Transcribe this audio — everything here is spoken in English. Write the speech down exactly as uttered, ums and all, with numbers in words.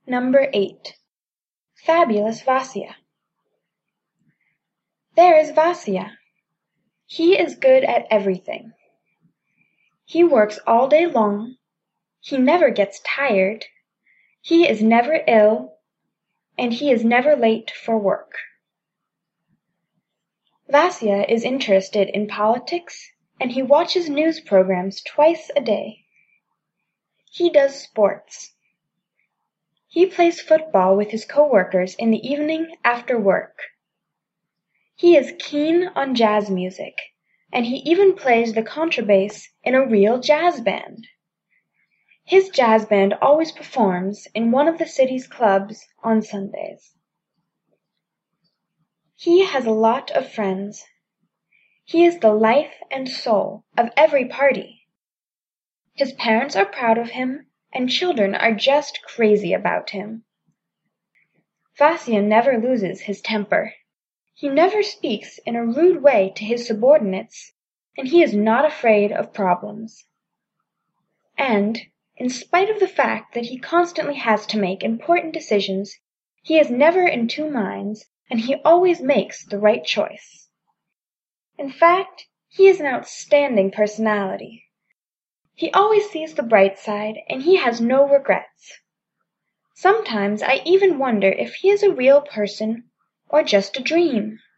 Number eight. Fabulous Vasia. There is Vasia. He is good at everything. He works all day long. He never gets tired. He is never ill, and he is never late for work. Vasia is interested in politics, and he watches news programs twice a day. He does sports. He plays football with his coworkers in the evening after work. He is keen on jazz music, and he even plays the contrabass in a real jazz band. His jazz band always performs in one of the city's clubs on Sundays. He has a lot of friends. He is the life and soul of every party. His parents are proud of him, and children are just crazy about him. Vasia never loses his temper. He never speaks in a rude way to his subordinates, and he is not afraid of problems. And, in spite of the fact that he constantly has to make important decisions, he is never in two minds, and he always makes the right choice. In fact, he is an outstanding personality. He always sees the bright side, and he has no regrets. Sometimes I even wonder if he is a real person or just a dream.